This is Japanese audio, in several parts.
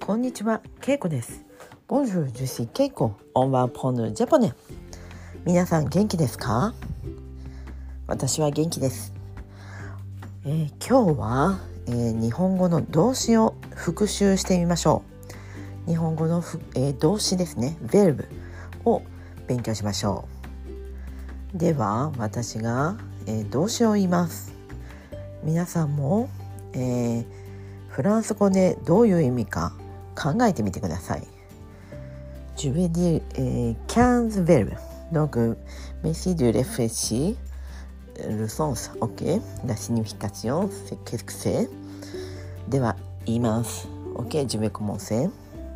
こんにちは、ケイコです。Bonjour, je suis Keiko. On va apprendre le japonais. 皆さん元気ですか？私は元気です。今日は、日本語の動詞を復習してみましょう。日本語の動詞ですね、verb を勉強しましょう。では私が、動詞を言います。皆さんも、フランス語でどういう意味か考えてみてください。Je vais dire 15 verbes. Donc, merci de réfléchir le sens. OK? La signification, c'est qu'est-ce que c'est? では言います。OK? Je vais commencer.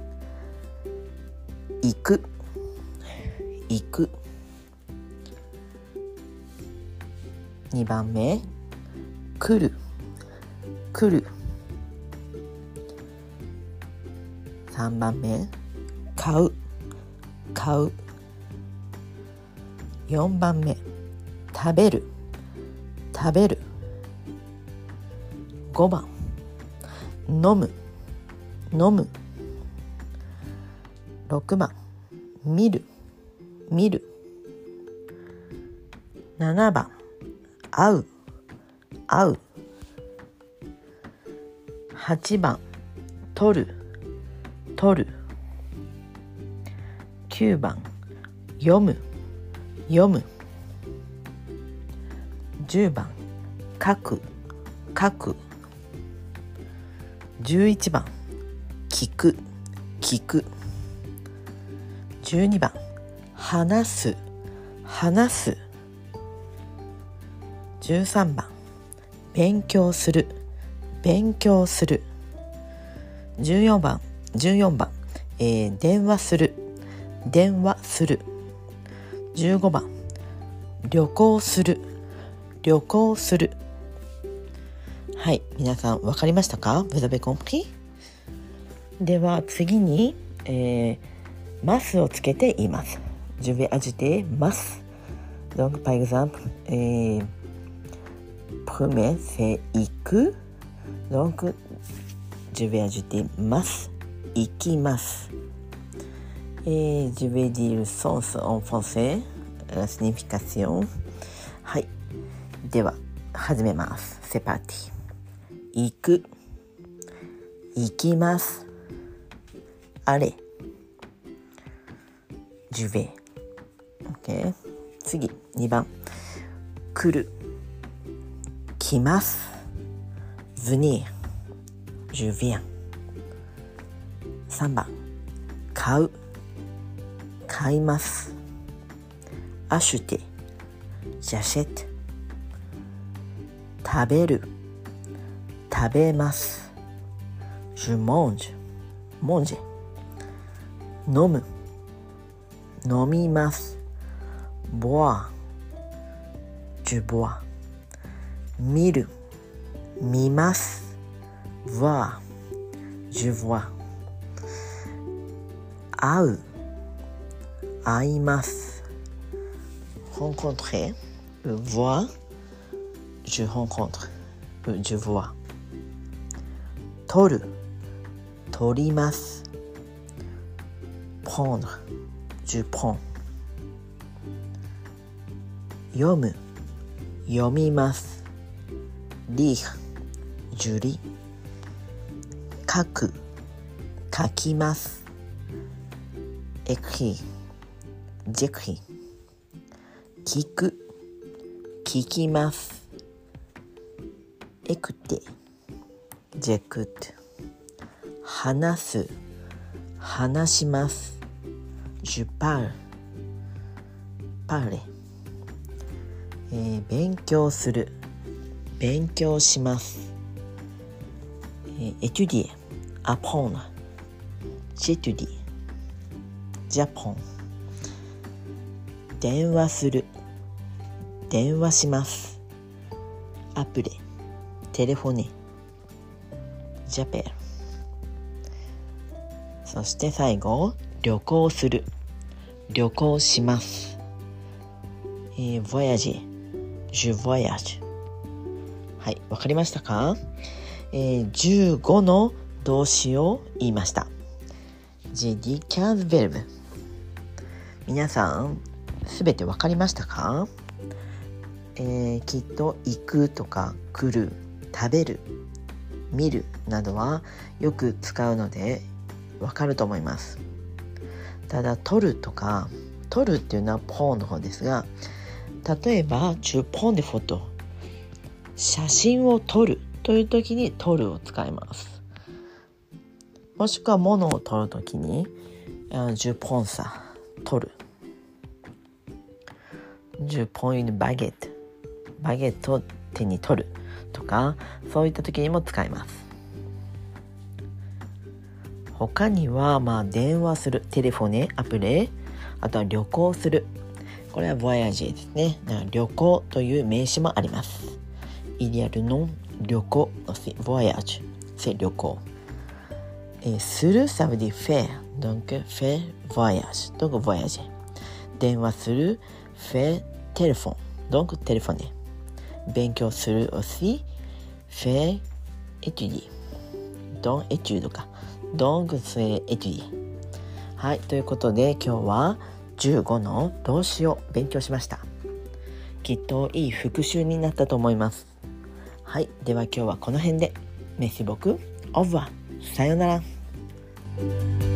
行く、行く。2番目、来る、来る。3番目、買う、買う。4番目、食べる、食べる。5番、飲む、飲む。6番、見る、見る。7番、会う、会う。8番、取る、取る。9番、読む、読む。10番、書く、書く。11番、聞く、聞く。12番、話す、話す。13番、勉強する、勉強する。14番、電話する、電話する。15番、旅行する、旅行する。はい、皆さん分かりましたか？ Vous avez compris？ では次に、ますをつけて言います。Je vais ajouter mas. Donc par exemple, premier c'est 行く。Donc je vais ajouter mas. 行きます。Je vais dire le sens en français, la signification. はい。では始めます。C'est parti. 行く、行きます。Allez. Je vais. OK。次、2番。来る、来ます。venir. Je viens。3番、買う、買います。acheter, j'achète。食べる、食べます。je mange, manger。飲む、飲みます。boire, je bois。見る、見ます。voir, je vois。会う、会います。rencontrer, voir, je rencontre, je vois。取る、取ります。prendre, je prends。読む、読みます。lire, je lis。書く、書きます。écrit, j'écris。聞く、聞きます。écouter, j'écoute。話す、話します。je parle, parler。勉強する、勉強します。étudier, apprendre, j'étudie。Japon。電話する、電話します。アプリ、テレフォネ、ジャペル。そして最後、旅行する、旅行します。voyager, je voyage。はい、わかりましたか？15の動詞を言いました。 j'ai dit 15 verbes。皆さんすべてわかりましたか？きっと行くとか来る、食べる、見るなどはよく使うのでわかると思います。ただ撮るとか、撮るっていうのはポンの方ですが、例えばtu prends des photos、写真を撮るという時に撮るを使います。もしくは物を撮る時にje prends ça、撮る。je prends une baguette、バゲットを手に取るとか、そういった時にも使います。他には電話する、テレフォネ、アプレ、あとは旅行する、これはボヤージェですね。旅行という名詞もあります。Il y a le nom 旅行、c'est voyage、c'est 旅行。する、ça veut dire faire、donc faire voyage、donc voyager。電話する、faire téléphone、donc téléphoner。勉強する aussi faire étudier、 donc étude か、 donc c'est étudier。 はい、ということで今日は15の動詞を勉強しました。きっといい復習になったと思います。はい、では今日はこの辺で。Merci beaucoup、au revoir、さようなら。